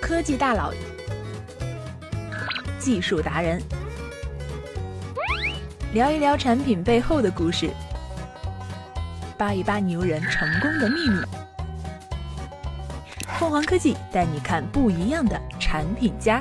科技大佬、技术达人，聊一聊产品背后的故事，扒一扒牛人成功的秘密。凤凰科技带你看不一样的产品家。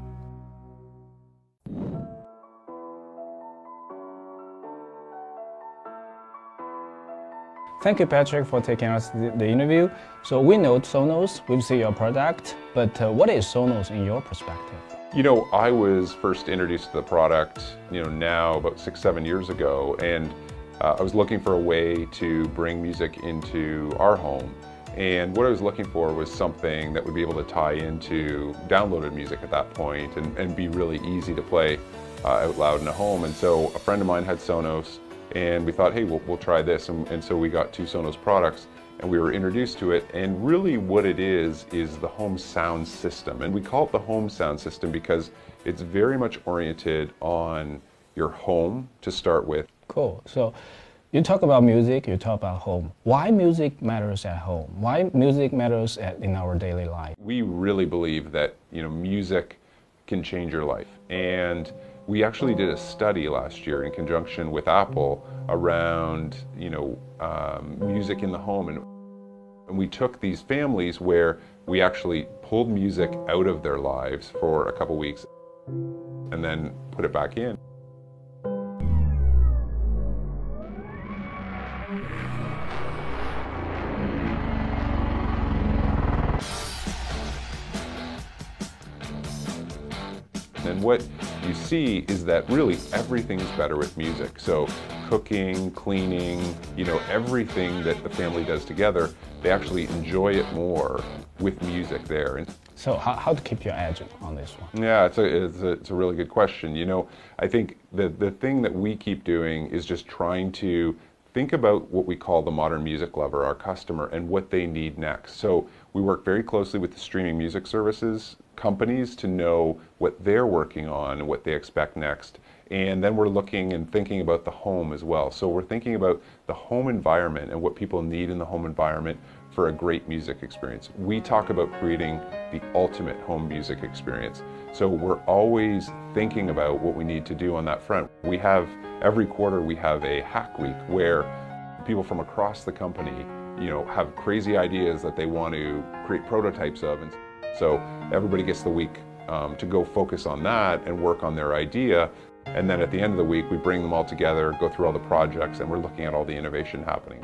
Thank you, Patrick, for taking us the interview. So we know Sonos, we've seen your product, but what is Sonos in your perspective? You know, I was first introduced to the product, now about 6-7 years ago, and I was looking for a way to bring music into our home. And what I was looking for was something that would be able to tie into downloaded music at that point and be really easy to play out loud in a home. And so a friend of mine had Sonos, and we thought, hey, we'll try this. And so we got 2 Sonos products, and we were introduced to it. And really what it is the home sound system. And we call it the home sound system because it's very much oriented on your home to start with. Cool. So you talk about music, you talk about home. Why music matters at home? Why music matters in our daily life? We really believe that, music can change your life. And we actually did a study last year in conjunction with Apple around, music in the home. And we took these families where we actually pulled music out of their lives for a couple weeks and then put it back in. And what you see is that really everything's better with music. So cooking, cleaning, everything that the family does together, they actually enjoy it more with music there. And so how to keep your edge on this one? Yeah, it's a really good question. I think the thing that we keep doing is just trying to think about what we call the modern music lover, our customer, and what they need next. So we work very closely with the streaming music services companies to know what they're working on and what they expect next. And then we're looking and thinking about the home as well. So we're thinking about the home environment and what people need in the home environment for a great music experience. We talk about creating the ultimate home music experience. So we're always thinking about what we need to do on that front. Every quarter we have a hack week where people from across the company, have crazy ideas that they want to create prototypes of. And so everybody gets the week to go focus on that and work on their idea. And then at the end of the week, we bring them all together, go through all the projects, and we're looking at all the innovation happening.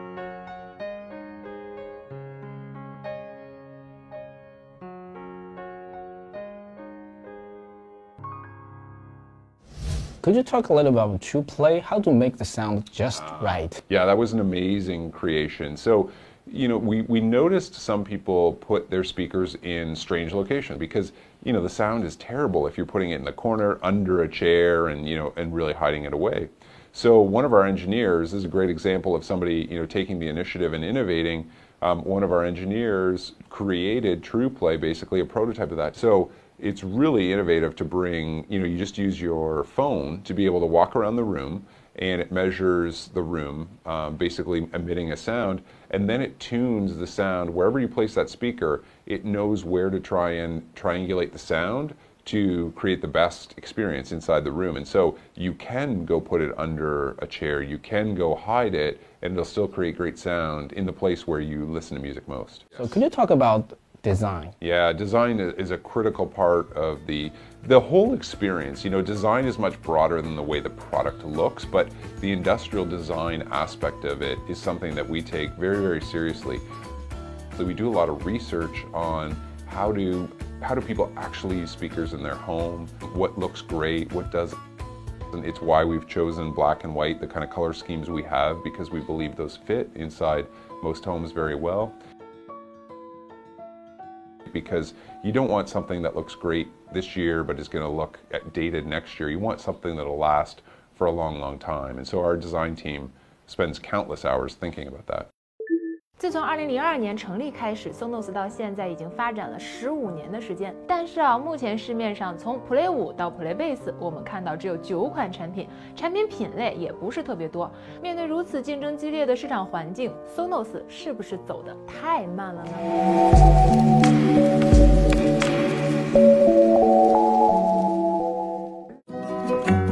Could you talk a little about TruePlay, how to make the sound just right? Yeah, that was an amazing creation. So, we noticed some people put their speakers in strange locations because, the sound is terrible if you're putting it in the corner, under a chair, and, and really hiding it away. So one of our engineers, this is a great example of somebody, taking the initiative and innovating. One of our engineers created TruePlay, basically a prototype of that. So it's really innovative to bring, you just use your phone to be able to walk around the room, and it measures the room, basically emitting a sound, and then it tunes the sound. Wherever you place that speaker, it knows where to try and triangulate the sound to create the best experience inside the room. And so you can go put it under a chair, you can go hide it, and it'll still create great sound in the place where you listen to music most. So could you talk about design? Yeah, design is a critical part of the whole experience. Design is much broader than the way the product looks, but the industrial design aspect of it is something that we take very, very seriously. So we do a lot of research on how do people actually use speakers in their home, what looks great, what doesn't. And it's why we've chosen black and white, the kind of color schemes we have, because we believe those fit inside most homes very well. Because you don't want something that looks great this year but is going to look dated next year. You want something that'll last for a long, long time. And so our design team spends countless hours thinking about that. 自从2002年成立开始 ，Sonos 到现在已经发展了15年的时间。但是目前市面上从 Play 5到 Play Bass， 我们看到只有9款产品，产品品类也不是特别多。面对如此竞争激烈的市场环境 ，Sonos 是不是走得太慢了呢？ 见。